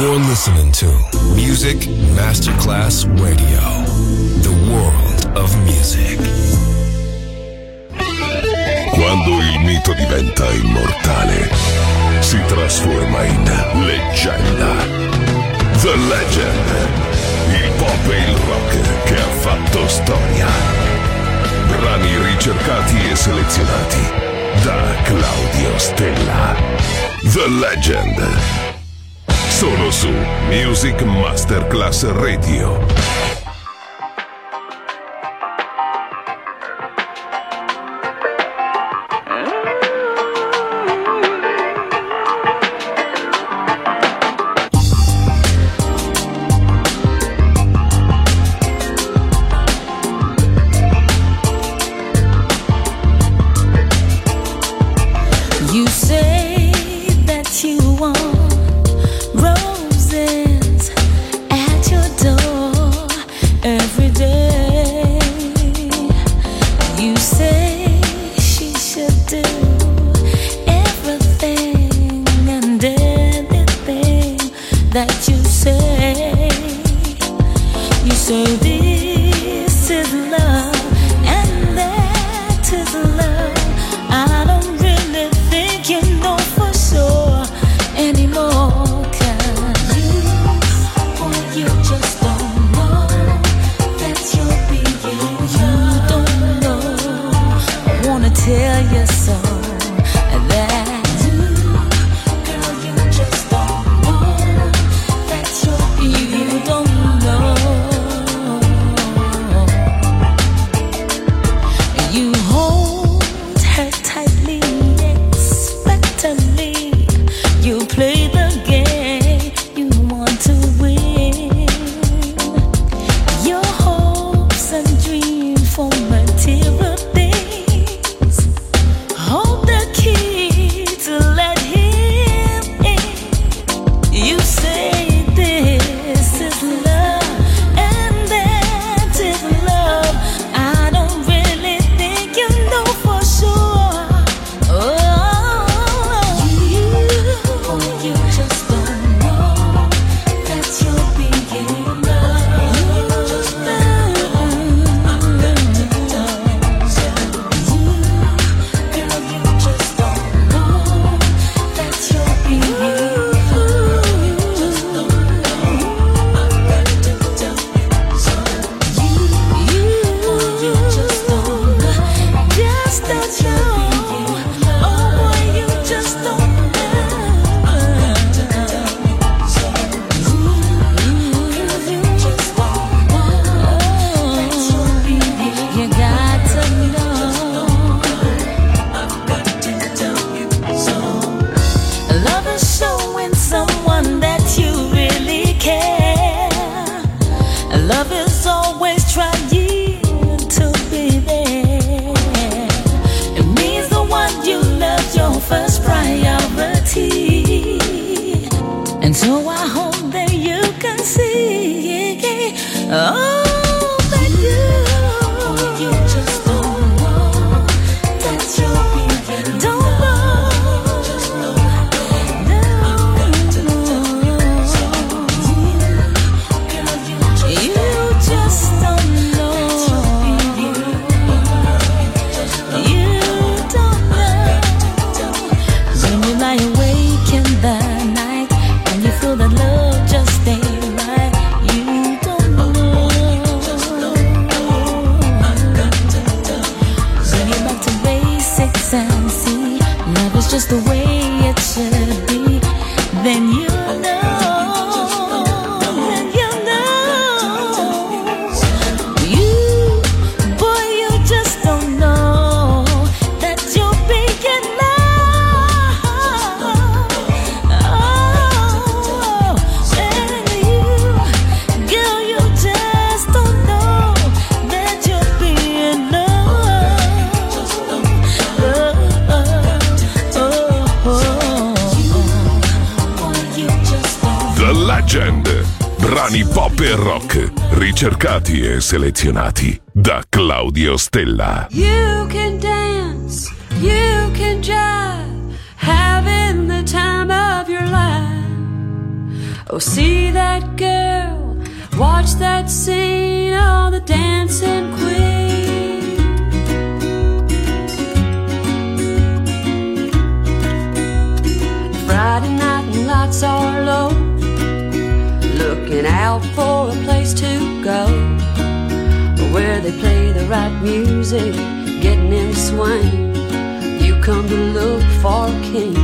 You're listening to Music Masterclass Radio, the world of music. Quando il mito diventa immortale, si trasforma in leggenda. The Legend, il pop e il rock che ha fatto storia. Brani ricercati e selezionati da Claudio Stella. The Legend. Solo su Music Masterclass Radio. Brani pop e rock, ricercati e selezionati da Claudio Stella. You can dance, you can jive, having the time of your life. Oh, see that girl, watch that scene, oh, the dancing queen. Friday night and lights are low, looking out for a place to go, where they play the right music, getting in the swing. You come to look for a king.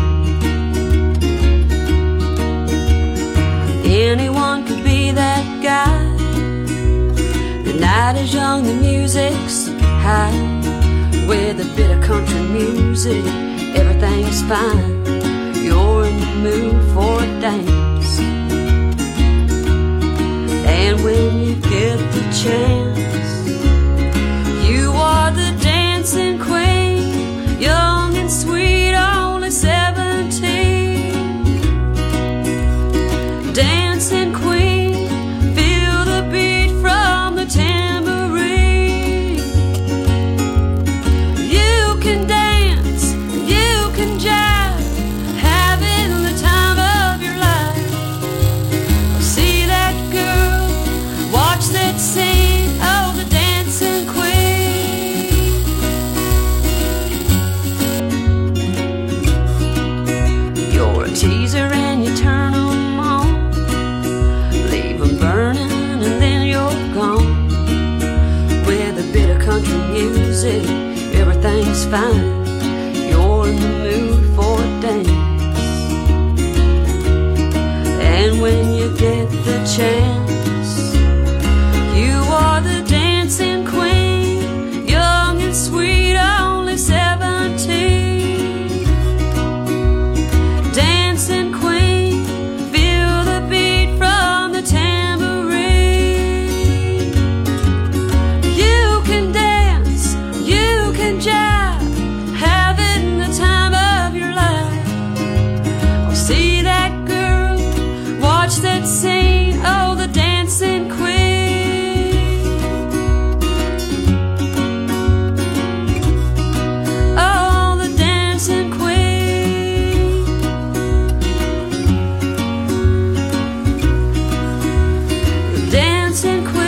Anyone could be that guy. The night is young, the music's high. With a bit of country music, everything's fine. You're in the mood for a dance. And when you get the chance, you are the dancing queen, young and sweet, only 17. Dancing queen, feel the beat from the tambourine. You can dance, you can jive, having the time of your life. See that girl, watch that scene, oh, the dancing queen. You're a teaser and you turn them on, leave them burning and then you're gone. With a bit of country music, everything's fine. You're in the mood for a dance. And when you get the chance, you are the dancing queen, young and sweet, only 17. Dancing queen, feel the beat from the tambourine. You can dance, you can jive, having the time of your life. Oh, see that girl, watch that scene, oh, the dancing queen. Oh, the dancing queen. The dancing queen.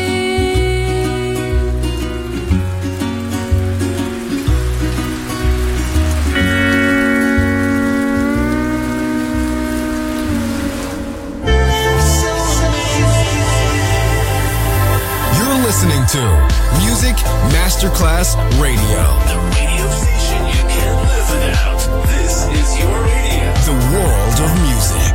You're listening to Music Masterclass Radio. The radio station you can't live without. This is your radio. The world of music.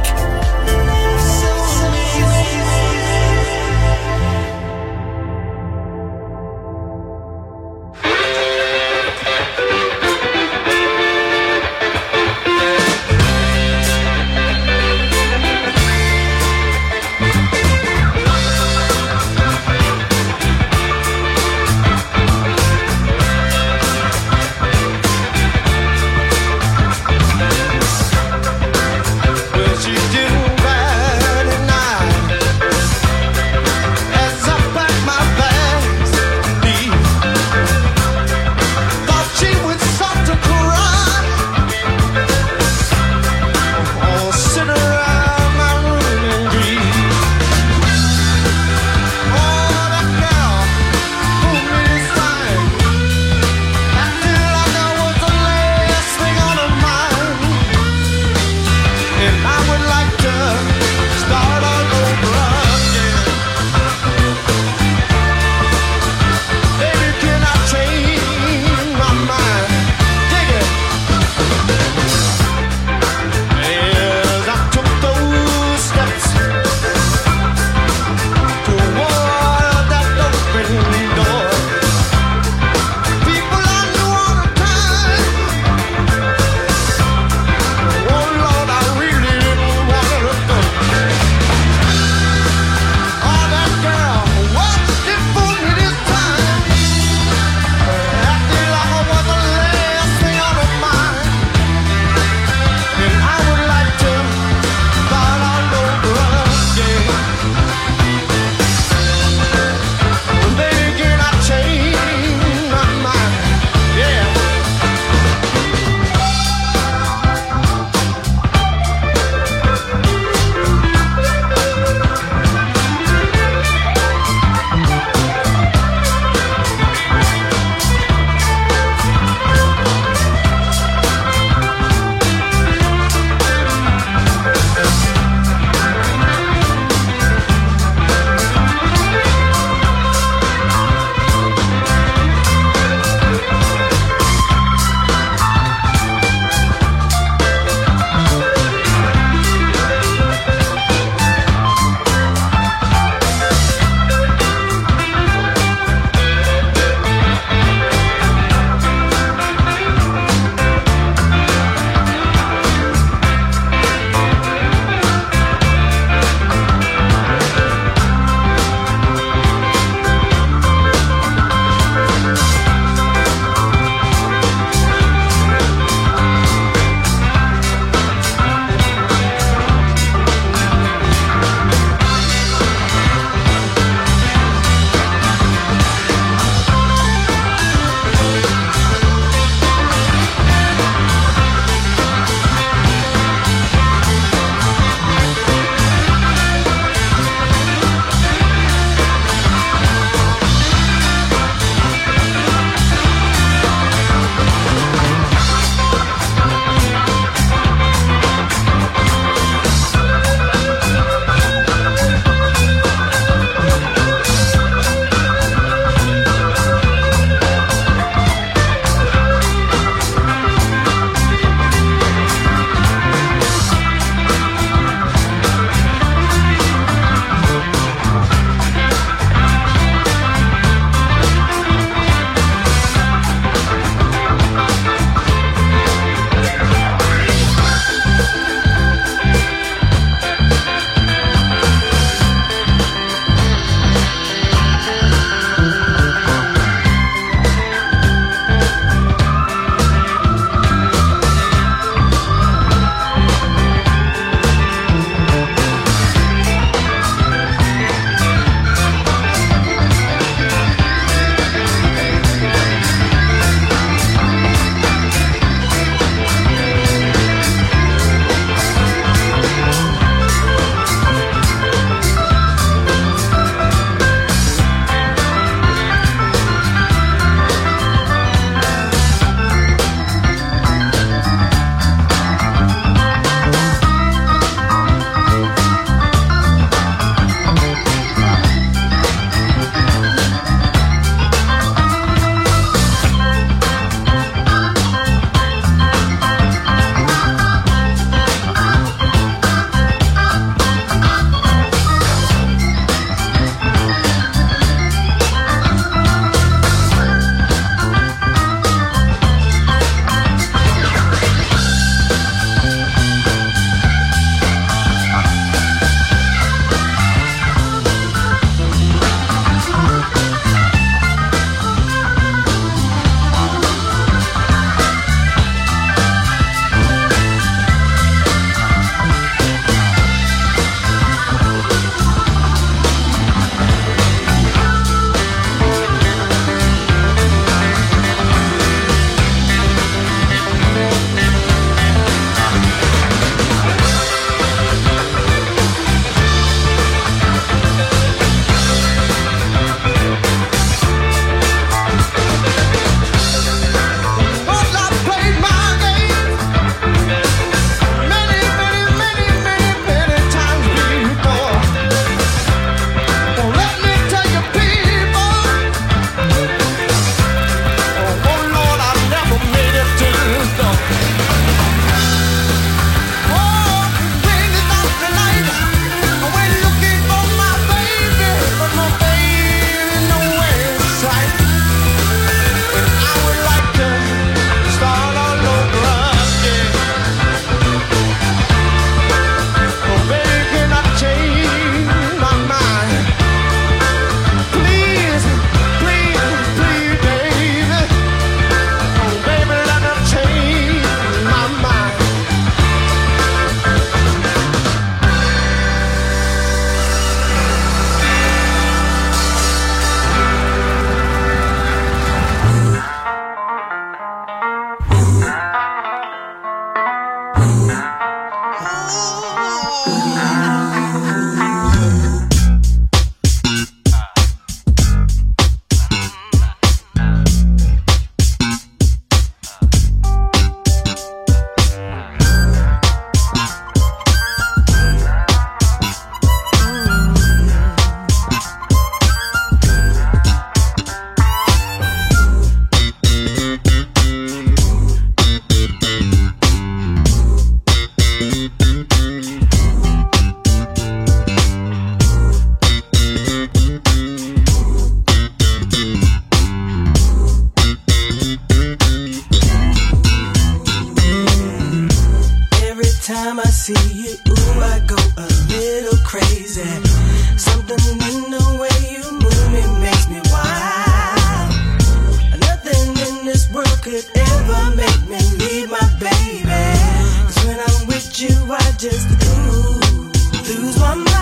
I go a little crazy. Something in the way you move me makes me wild. Nothing in this world could ever make me leave my baby. 'Cause when I'm with you, I just lose my mind.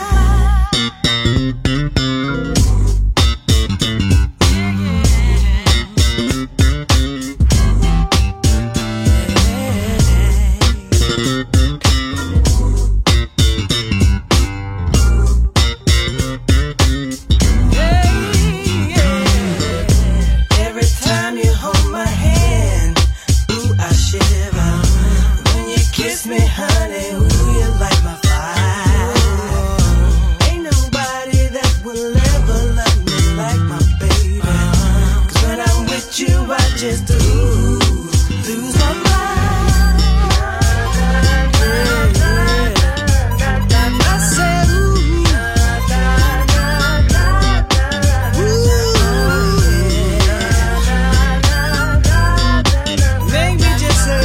Just to lose my mind. I said, ooh, make me just say,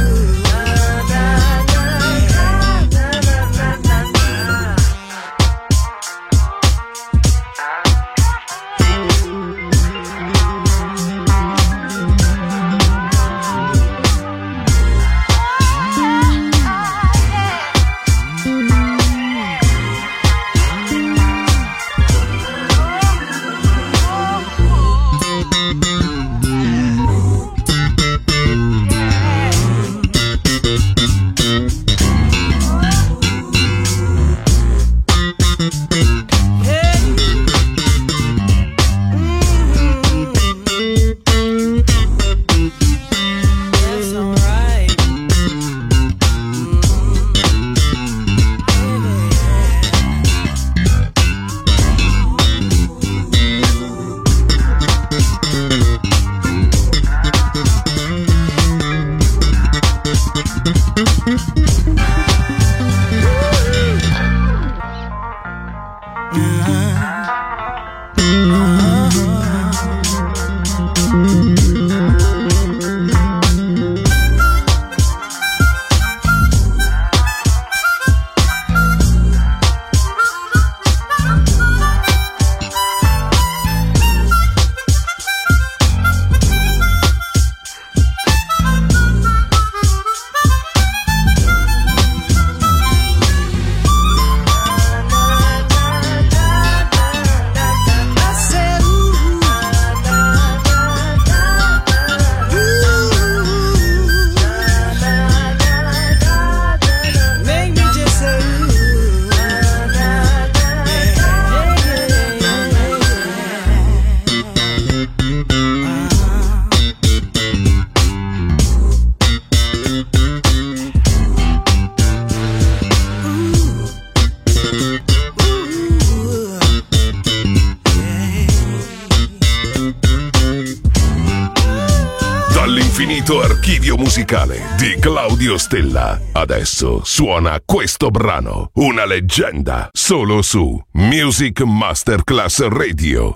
Archivio musicale di Claudio Stella. Adesso suona questo brano, una leggenda, solo su Music Masterclass Radio.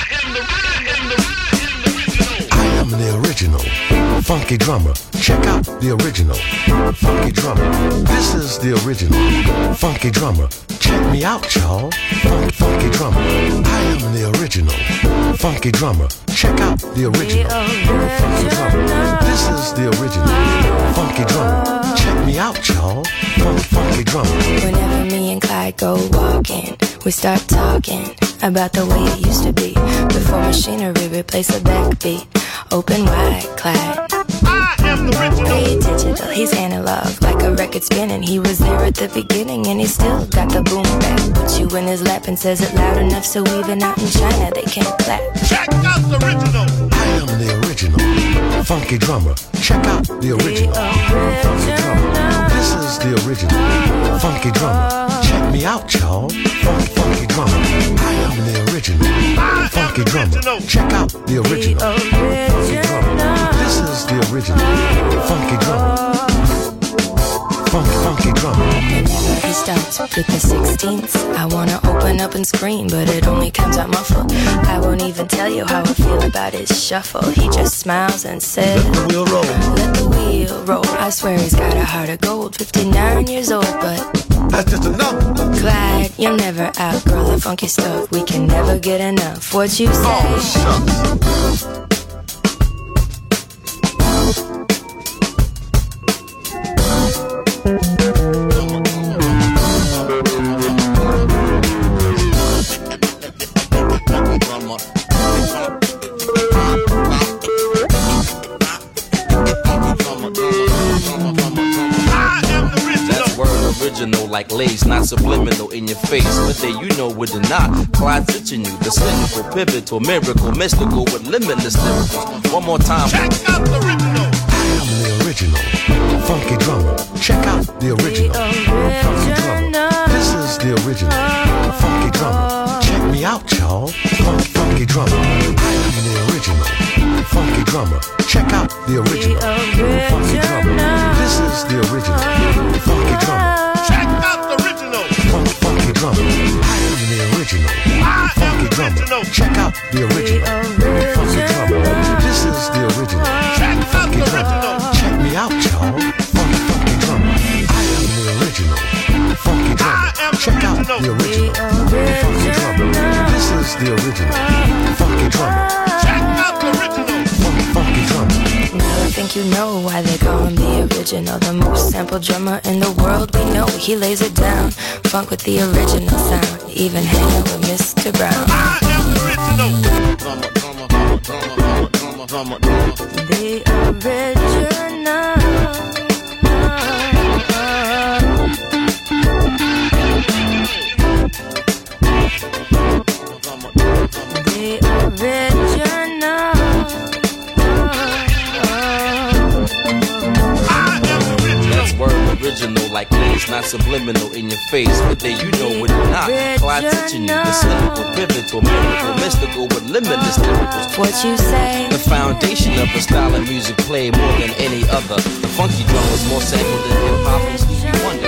I am the original funky drummer. Check out the original funky drummer. This is the original funky drummer. Check me out, y'all. Funky drummer. I am the original funky drummer. Check out the original funky drummer. This is the original funky drummer. Check me out, y'all. Funky drummer. Whenever me and Clyde go walking, we start talking about the way it used to be before machinery replaced the backbeat. Open wide, Clyde. Pay digital, he's analog, like a record spinning. He was there at the beginning and he still got the boom back. Puts you in his lap and says it loud enough so even out in China they can't clap. Check out the original. I am the original funky drummer. Check out the original funky drummer. This is the original funky drummer. Check me out, y'all. Funky drummer. I am the original funky drummer. Check out the original funky drummer. This is the original funky drummer. Funky drummer. Whenever he starts with the 16ths, I wanna open up and scream, but it only comes out muffled. I won't even tell you how I feel about his shuffle. He just smiles and says, Let the wheel roll. Let the wheel roll. I swear he's got a heart of gold. 59 years old, but You're never outgrow the funky stuff. We can never get enough. What you say? Oh, shucks. Like lace, not subliminal in your face. But there you know with the knot, Clyde stitching you. The cynical, pivotal, miracle, mystical with limitless lyricals. One more time. Check out the original. I am the original funky drummer. Check out the original funky drummer. This is the original funky drummer. Check me out, y'all. Funky drummer. I am the original funky drummer. Check out the original funky drummer. This is the original funky drummer. Check out the original. Funky drummer. I am the original funky drummer. Check out the original funky drummer. This is the original funky drummer. Check me out, y'all. Funky drummer. I am the original funky drummer. Check out the original funky drummer. This is the original funky drummer. Check out the original. Funky drummer. Now I think you know why they call him the original. The most sampled drummer in the world we know. He lays it down, funk with the original sound. Even hanging with Mr. Brown. I am the original. The original. Original like lace, not subliminal in your face. But there you know what you're not. Clyde teaching you the cynical, pivotal, miracle, mystical with limitless lyricals. What you say? The foundation of a style of music played more than any other. The funky drum was more sampled than hip hop and Stevie Wonder.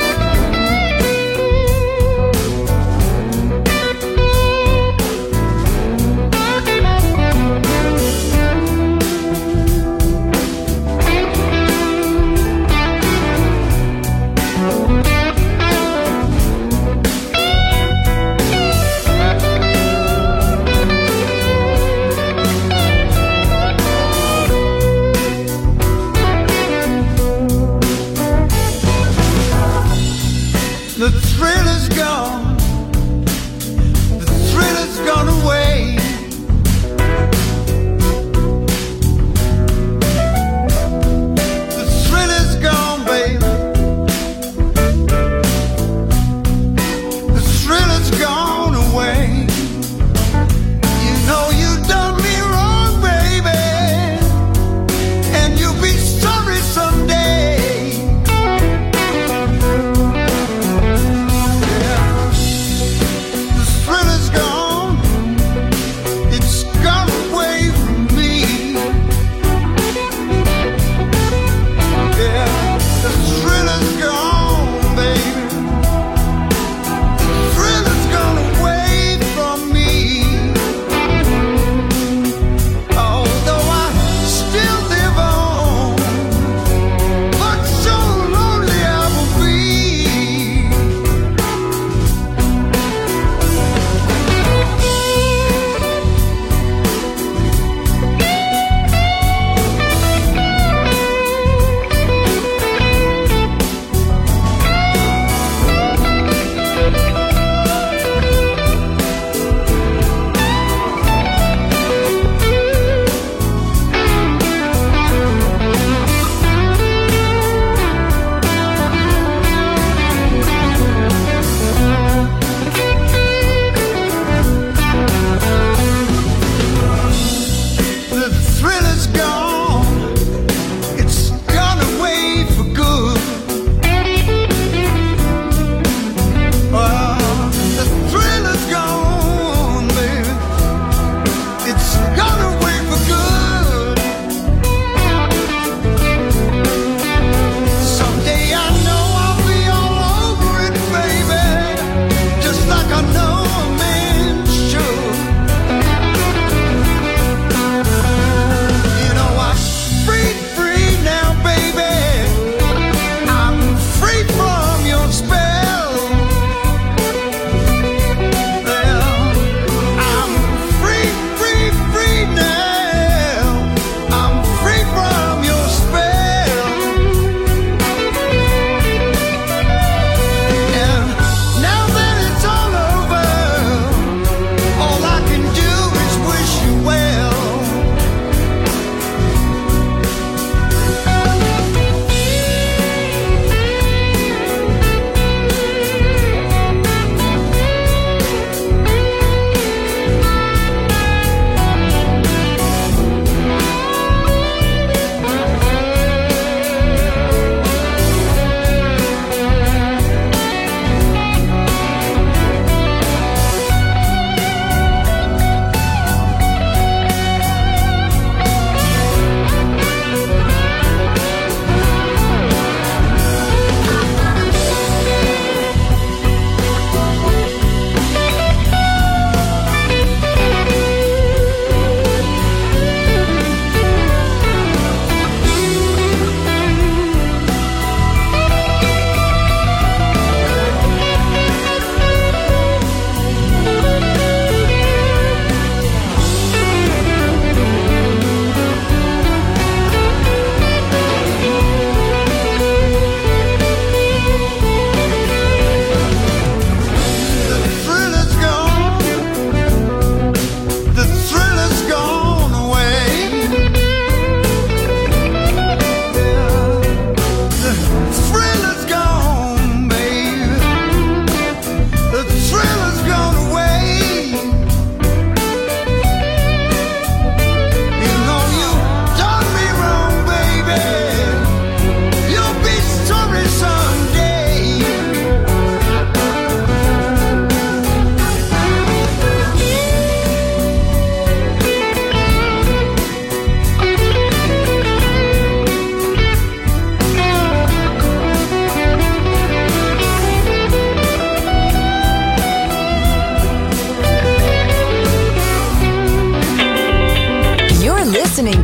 The thrill is gone. The thrill has gone away. The thrill is gone, baby. The thrill has gone away. You know you done me wrong, baby, and you'll be sorry someday.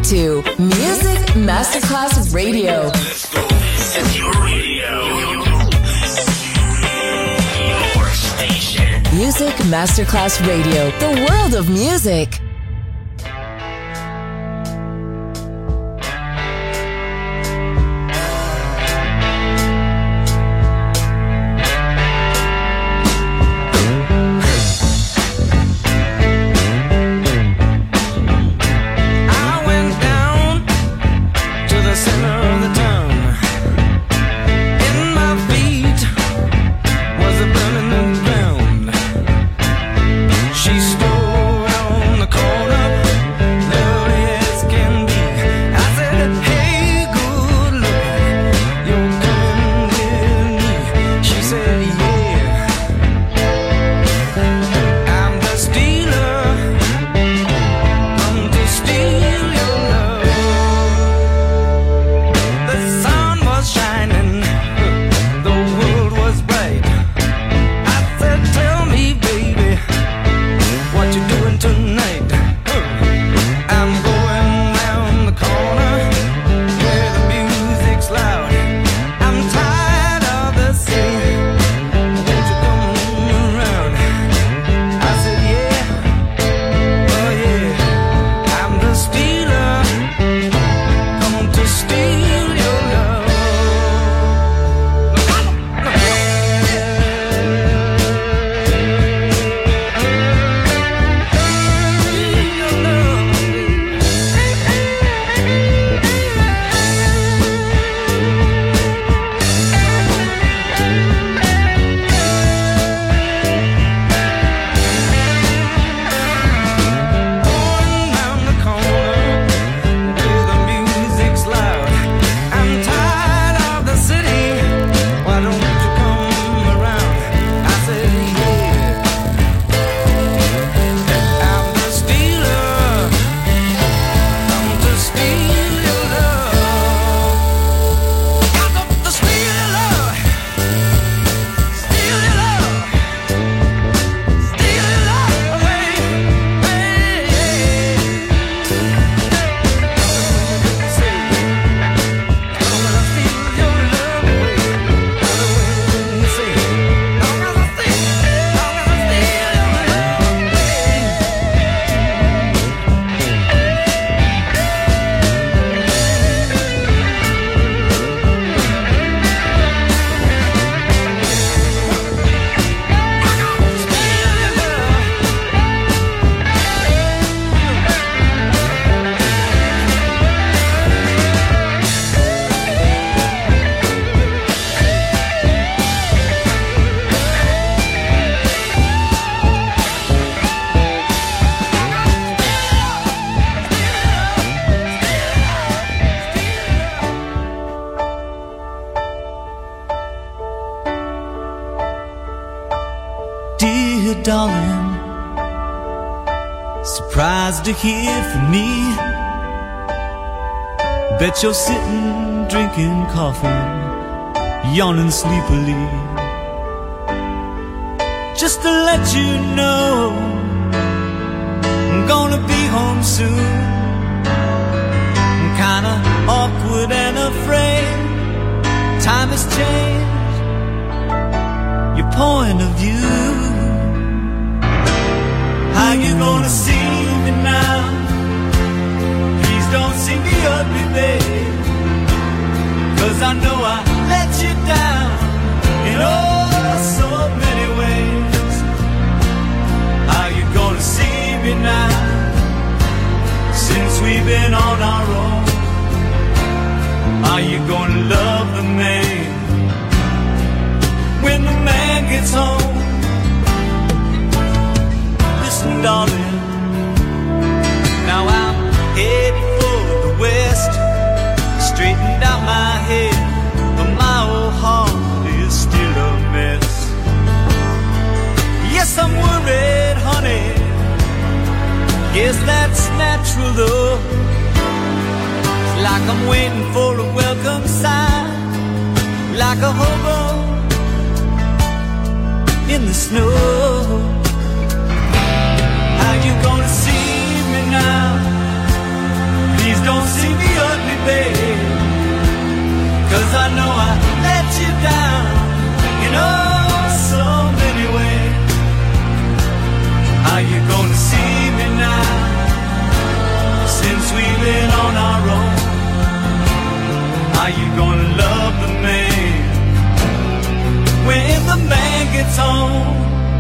to Music Masterclass Radio. Let's go. This is your radio. Your station. Music Masterclass Radio. The world of music. Darling, surprised to hear from me. Bet you're sitting drinking coffee, yawning sleepily. Just to let you know, I'm gonna be home soon. I'm kinda awkward and afraid. Time has changed your point of view. How you gonna see me now? Please don't see me ugly, babe, 'cause I know I let you down in oh so many ways. How you gonna see me now? Since we've been on our own, are you gonna love the man when the man gets home? Darling, now I'm headed for the west, straightened out my head, but my old heart is still a mess. Yes, I'm worried, honey, guess that's natural though. It's like I'm waiting for a welcome sign, like a hobo in the snow. How you gonna see me now? Please Please don't see me ugly, babe, 'cause I know I let you down in oh so many ways. Are you gonna see me now, since we've been on our own? Are you gonna love the man when the man gets home?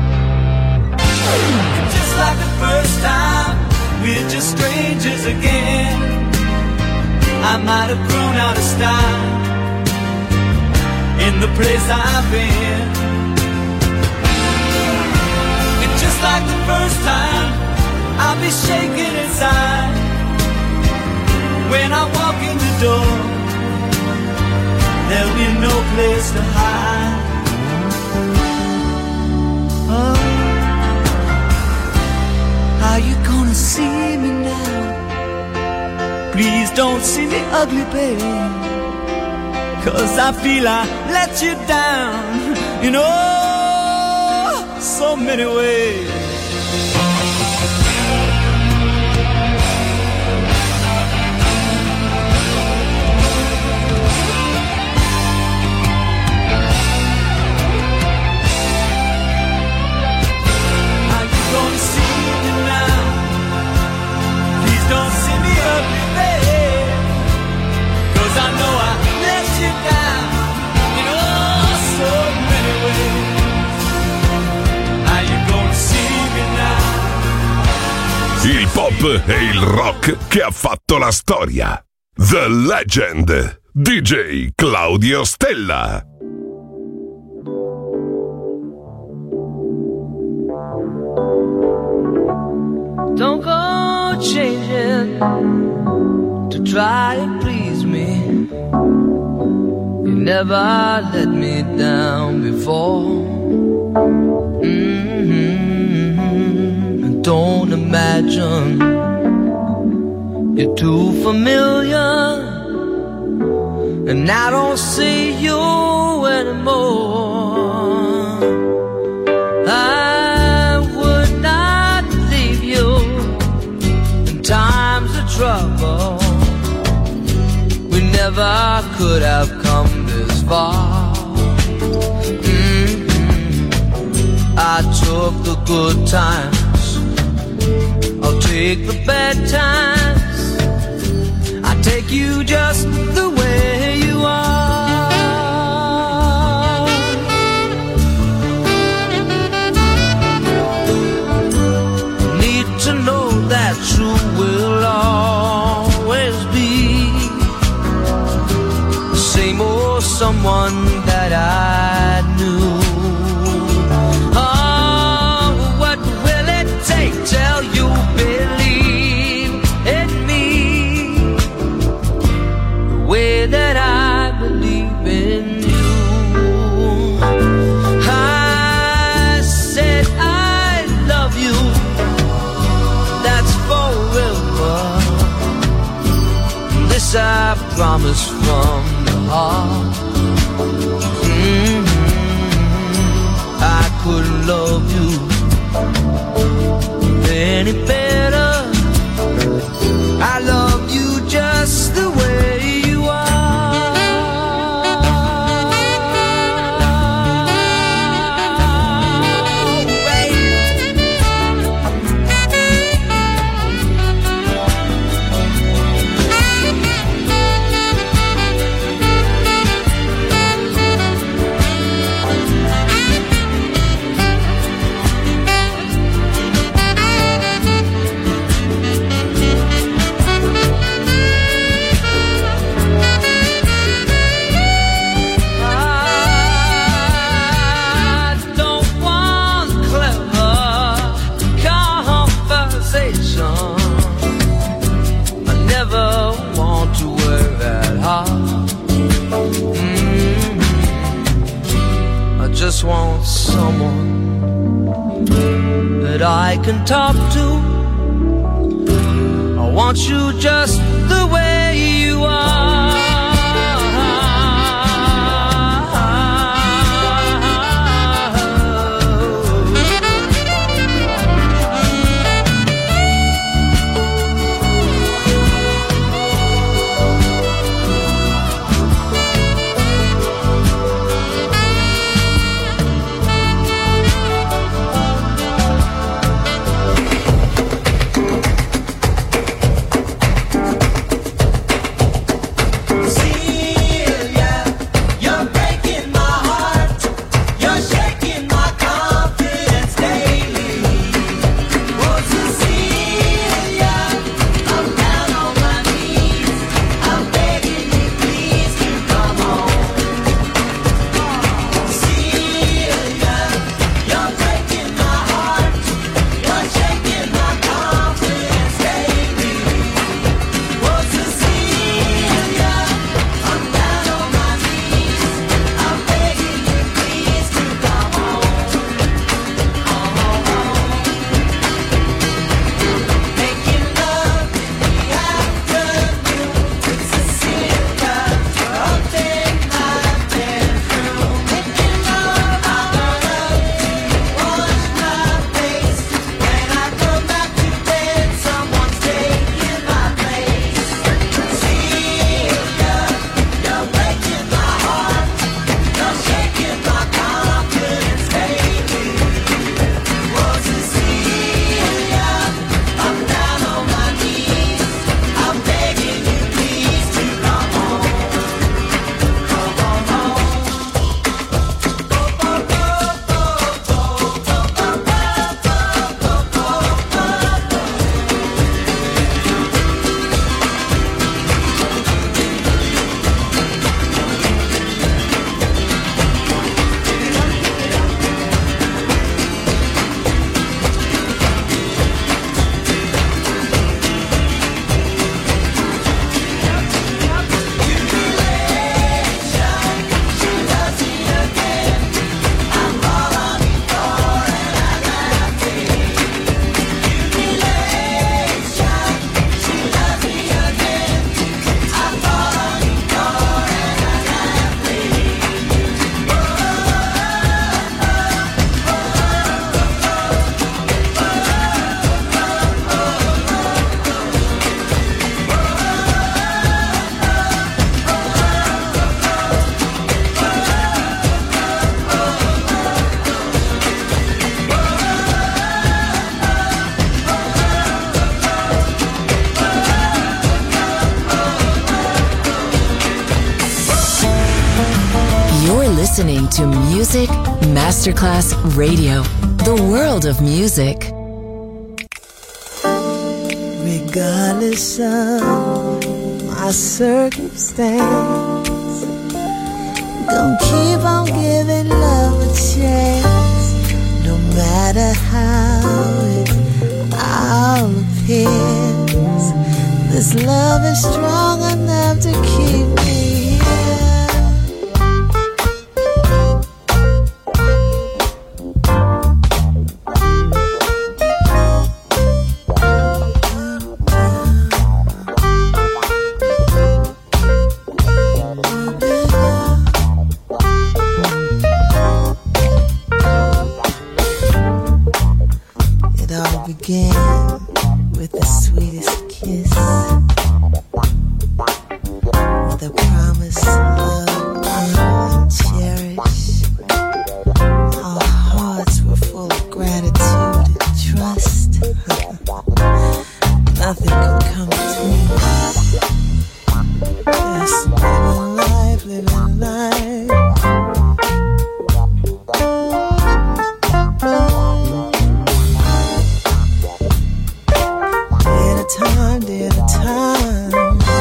Just like the first time, we're just strangers again. I might have grown out of style in the place I've been. And just like the first time, I'll be shaking inside when I walk in the door. There'll be no place to hide. Oh, are you gonna see me now? Please don't see me ugly, baby, 'cause I feel I let you down in oh so many ways. Don't see me ugly, babe, 'cause I know I let you down in oh so many ways. Are you gonna see me now? Il pop e il rock che ha fatto la storia. The Legend, DJ Claudio Stella. Don't go changing to try and please me. You never let me down before. Don't imagine you're too familiar, and I don't see you anymore. I would not leave you times of trouble. We never could have come this far. I took the good times, I'll take the bad times. I take you just the way you are. Need to know that you will always be the same old someone that I knew. Oh, what will it take till you believe in me the way that I believe in you? I said I love you, that's forever. This I promise from the heart. I couldn't love you any better. I love you just the way you are. Just want someone that I can talk to. I want you just the way you are. to Music Masterclass Radio, the world of music. Regardless of my circumstance, gonna keep on giving love a chance, no matter how it all appears. This love is strong enough to keep me here. It all began with the sweetest kiss, with a promise loved and cherished. Our hearts were full of gratitude and trust. Nothing could come between us. Just living life, living life. Day at a time.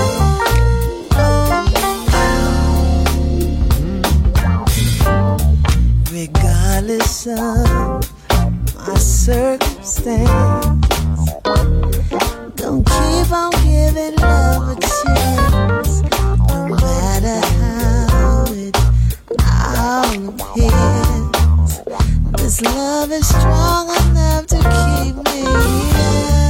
Regardless of my circumstance, gonna keep on giving love a chance, no matter how it all appears. This love is strong enough to keep me here.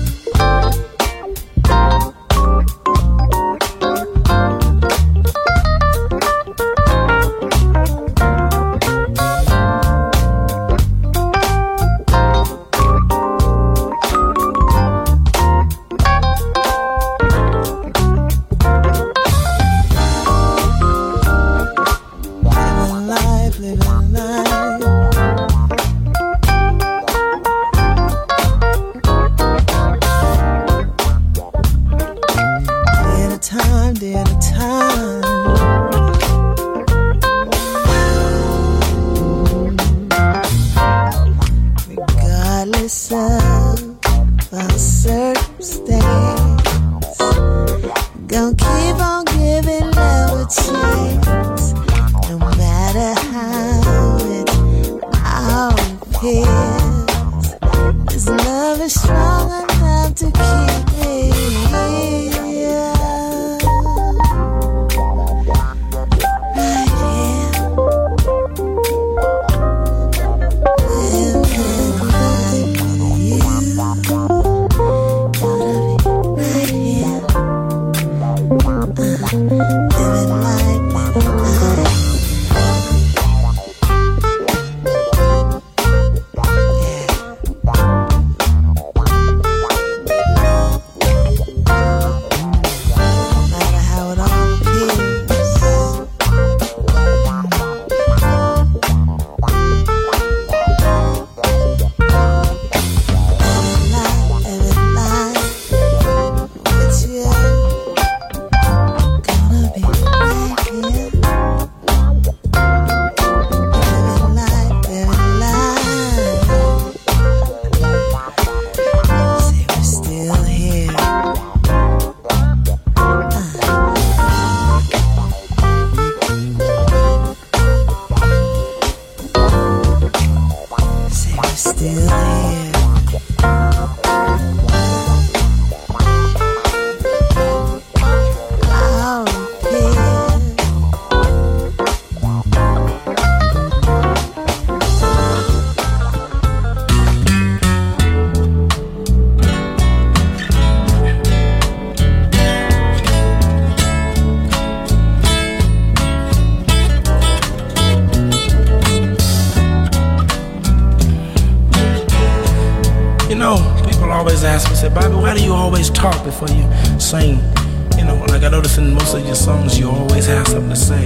Bobby, why do you always talk before you sing? You know, like I notice in most of your songs, you always have something to say.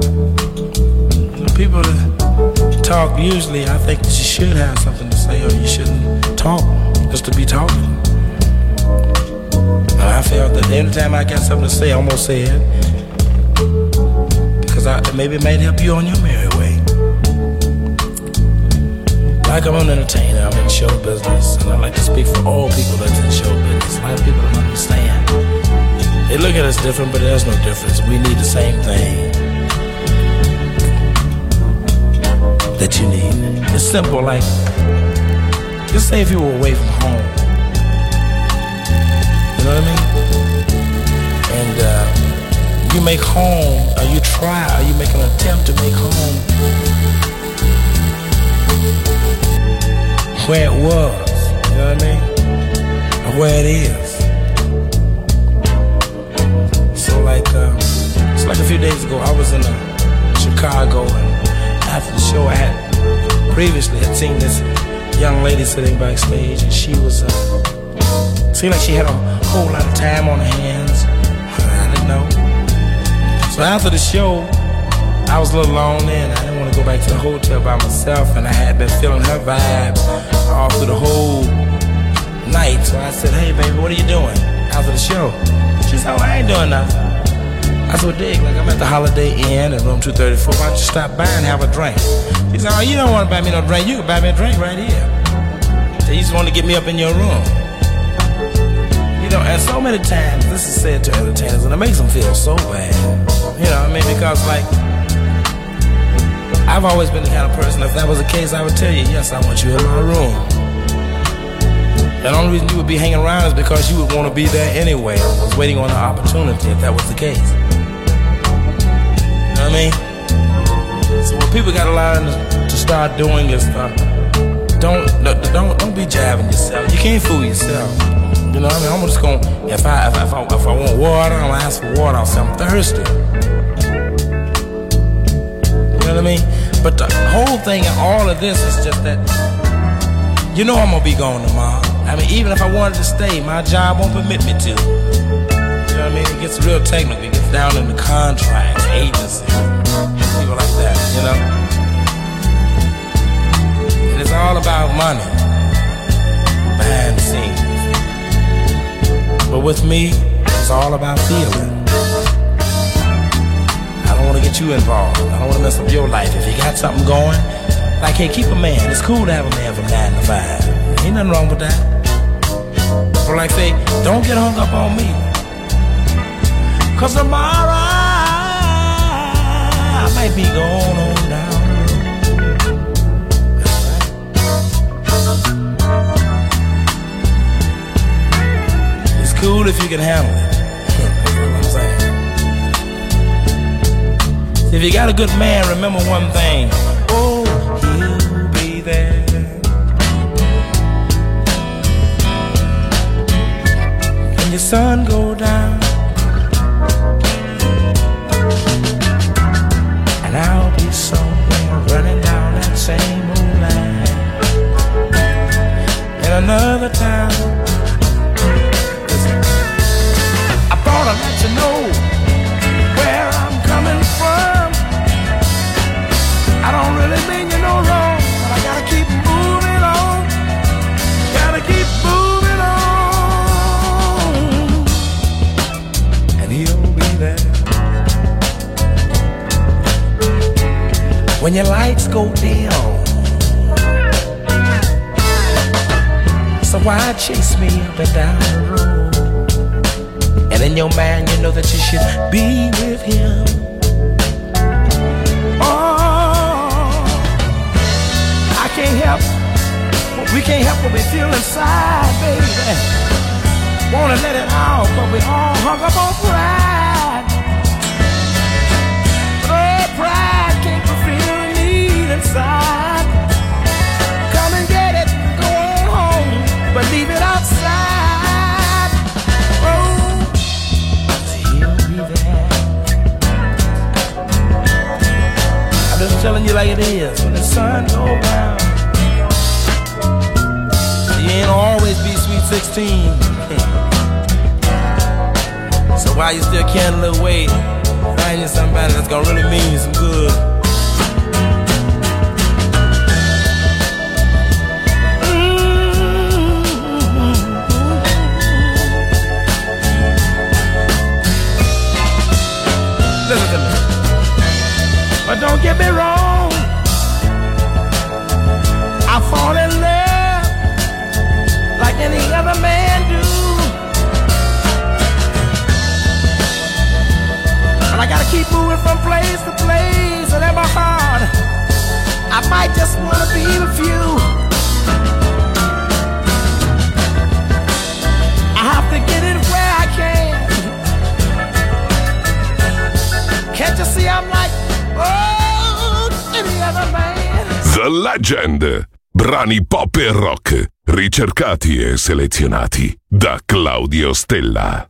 You know, people that talk, usually I think that you should have something to say, or you shouldn't talk just to be talking. I felt that every time I got something to say, I'm gonna say it, because maybe it might help you on your merry way. Like I'm an entertainer, I'm in show business, and I like to speak for all people that's in show business. A lot of people don't understand. They look at us different, but there's no difference. We need the same thing that you need. It's simple, like, just say if you were away from home. You know what I mean? And you make home, or you try, or you make an attempt to make home where it was, you know what I mean? Or where it is. So like, it's like a few days ago, I was in Chicago, and after the show I had previously had seen this young lady sitting backstage, and she was, seemed like she had a whole lot of time on her hands. I didn't know. So after the show, I was a little lonely, and I didn't want to go back to the hotel by myself, and I had been feeling her vibes all through the whole night. So I said, hey baby, what are you doing after the show? She said, oh, I ain't doing nothing. I said, well, dig, like I'm at the Holiday Inn at room 234. Why don't you stop by and have a drink? She said, oh, you don't want to buy me no drink. You can buy me a drink right here. So you just want to get me up in your room. You know, and so many times this is said to entertainers, and it makes them feel so bad. You know what I mean? Because, like, I've always been the kind of person, if that was the case, I would tell you, yes, I want you in my room. The only reason you would be hanging around is because you would want to be there anyway. I was waiting on an opportunity if that was the case. You know what I mean? So what people got to learn to start doing is don't be jabbing yourself. You can't fool yourself. You know what I mean? I'm just gonna, if I want water, I'm gonna ask for water. I'll say I'm thirsty. You know what I mean? But the whole thing and all of this is just that, you know I'm gonna be gone tomorrow. I mean, even if I wanted to stay, my job won't permit me to. You know what I mean? It gets real technical. It gets down in the contracts, agencies, people like that, you know? And it's all about money, behind the scenes. But with me, it's all about feeling. I don't want to get you involved. I don't want to mess up your life. If you got something going, like, hey, keep a man. It's cool to have a man from 9 to 5. Ain't nothing wrong with that. Or like, say, don't get hung up on me. 'Cause tomorrow I might be going on down. It's cool if you can handle it. That's what I'm saying. If you got a good man, remember one thing. Oh, he'll be there. When the sun go down, and I'll be somewhere running down that same old line. In another town, I thought I'd let you know where I'm coming from. I don't really mean you no wrong, but I gotta keep moving on. Gotta keep moving on. And he'll be there. When your lights go dim, so why chase me up and down the road? And in your mind you know that you should be with him. Can't help, we can't help what we feel inside, baby. Wanna let it out, but we all hung up on pride. But oh, pride can't fulfill the need inside. Come and get it, go on home, but leave it outside. Oh, he'll be there. I'm just telling you like it is. When the sun goes down, you ain't always be sweet 16. So while you still can a little weight, find you somebody that's gonna really mean you some good. Listen to me. But don't get me wrong, I fall other man do. But I gotta keep moving from place to place, and in my heart, I might just wanna be with you. I have to get it where I can. Can't you see I'm like, oh, any other man? The Legend. Brani pop e rock, ricercati e selezionati da Claudio Stella.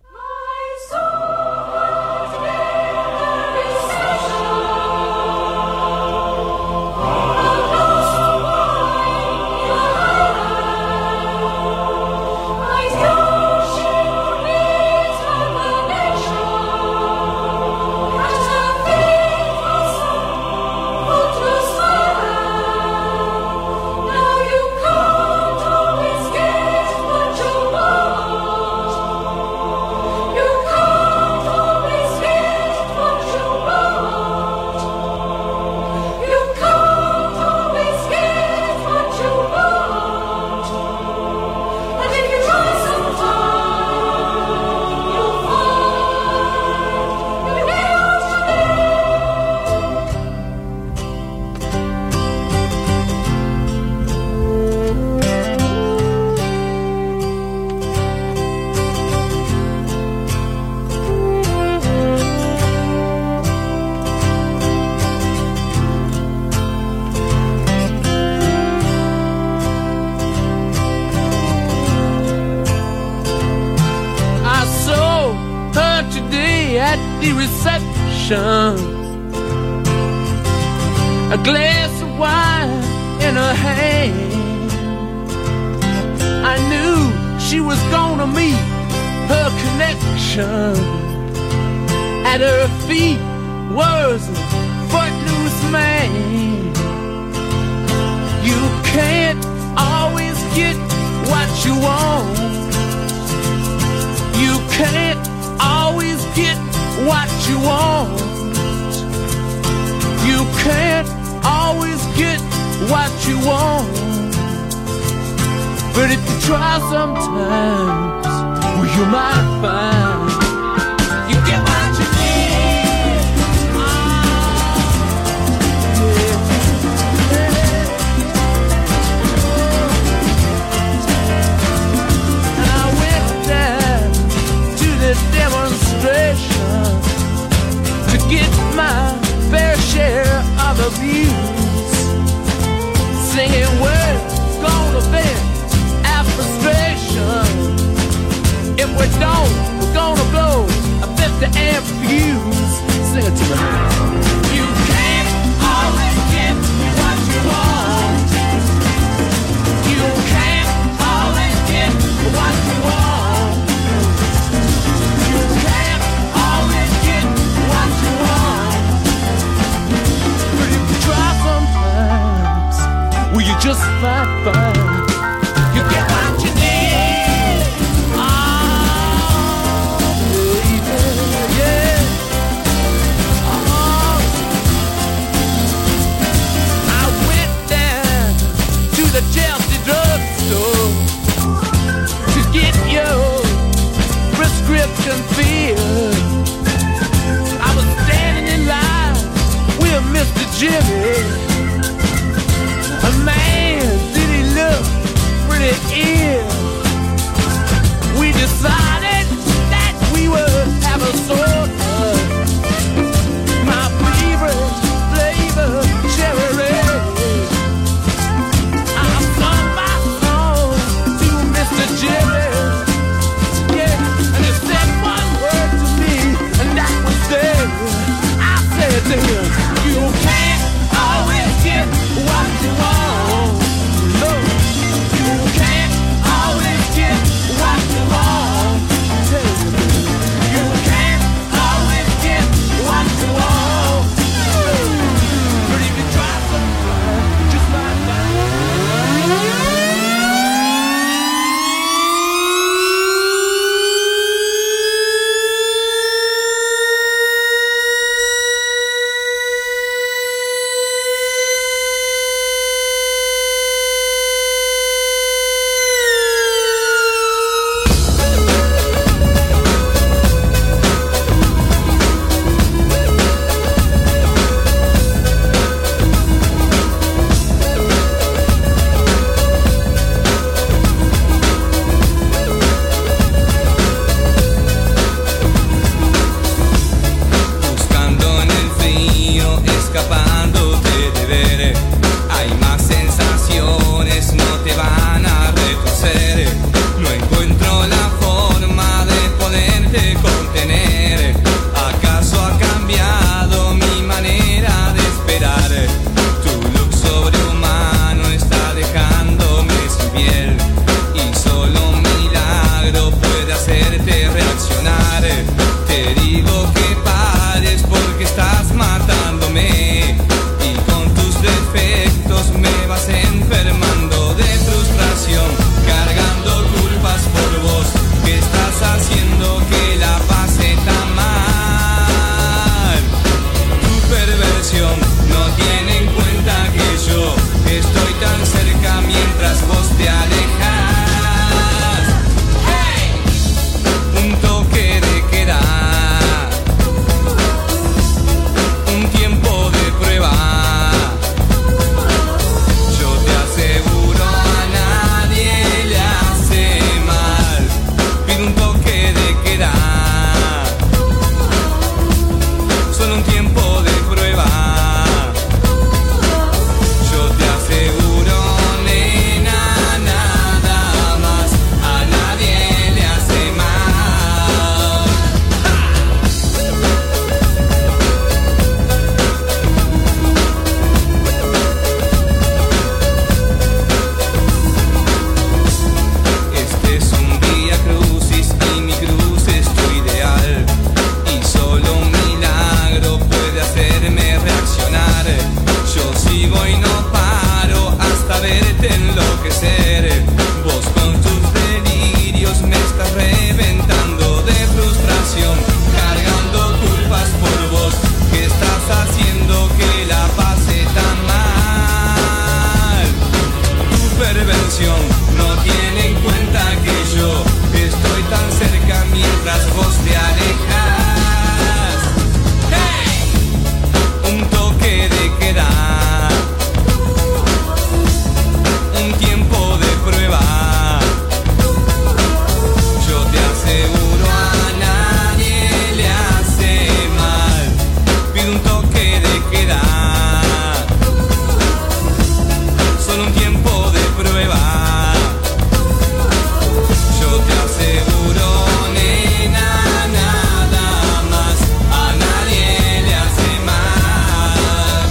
A glass of wine in her hand. I knew she was gonna meet her connection. At her feet was a footloose man. You can't always get what you want. You can't always get what you want. You can't always get what you want. But if you try sometimes, well, you might find you get what you need. And I went down to the demonstration to get my fair share of abuse, singing words gonna vent our frustration. If we don't, we're gonna blow a 50 amp fuse. Sing it to me. You can't always get what you want. You can't always get what you want. You can't always get what you want. But if you try sometimes, well, you just might find you get what you need. Oh, baby, yeah. Oh, I went down to the Chelsea drugstore to get your prescription filled. I was standing in line with Mr. Jimmy. A man, did he look pretty ill? We decided that we would have a soda. My favorite flavor, cherry red. I sung my song to Mr. Jimmy. Yeah, and he said one word to me, and that was there. I said to him, you can't enloquecer. Vos con tus delirios me estás reventando de frustración, cargando culpas por vos. ¿Qué estás haciendo que la pase tan mal? Tu perversión no tiene en cuenta que yo estoy tan cerca mientras vos te alejas. ¡Hey! Un toque de queda, un tiempo de prueba. Yo te aseguro a nadie le hace mal. Pido un toque de queda, solo un tiempo de prueba. Yo te aseguro, nena, nada más, a nadie le hace mal.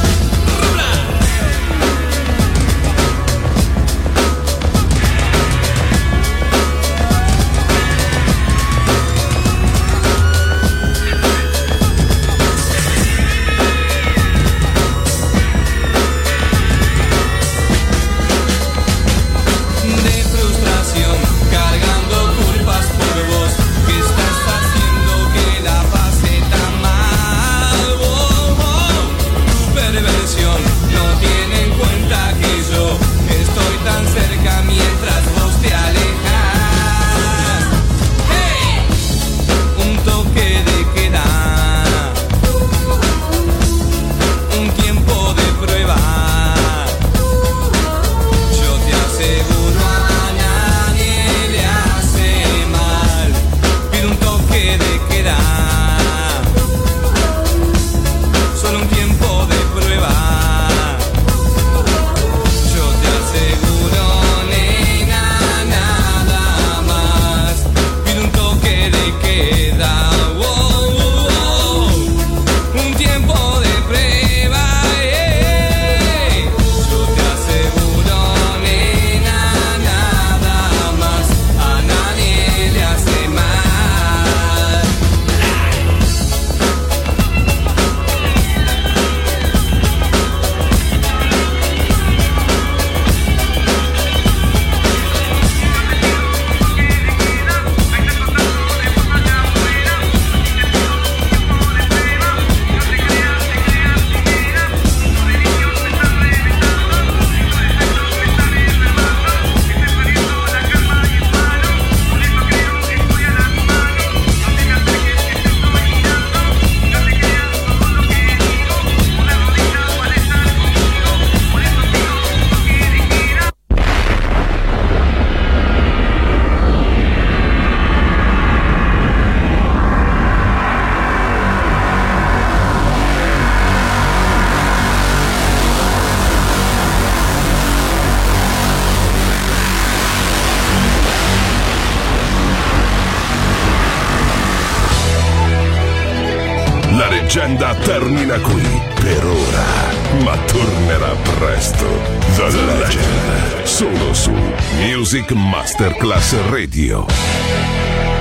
De frustración, cargando culpas por vos. ¿Qué estás haciendo que la pase tan mal? Oh, oh. Tu perversión no tiene en cuenta que yo estoy tan cerca mientras vos te alejas. ¡Hey! Un toque de queda, un tiempo de prueba. Yo te aseguro a nadie le hace mal. Pido un toque de queda, solo un tiempo de prueba. Yo te aseguro, nena, nada más. Pido un toque de queda, oh, oh, oh. Un tiempo de prueba. Yo te aseguro, nena, nada más, a nadie le hace mal. La leggenda termina qui per ora, ma tornerà presto. The Legend, solo su Music Masterclass Radio.